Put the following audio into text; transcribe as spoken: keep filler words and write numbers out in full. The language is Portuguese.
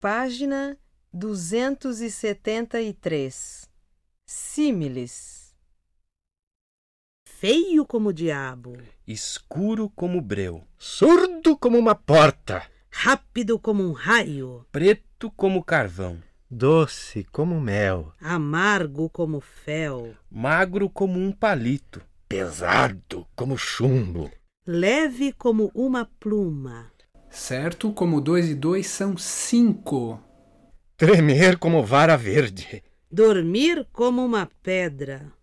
Página duzentos e setenta e três. Símiles. Feio como o diabo, escuro como breu, surdo como uma porta, rápido como um raio, preto como carvão, doce como mel, amargo como fel, magro como um palito, pesado como chumbo, leve como uma pluma, certo como dois e dois são cinco, tremer como vara verde, dormir como uma pedra,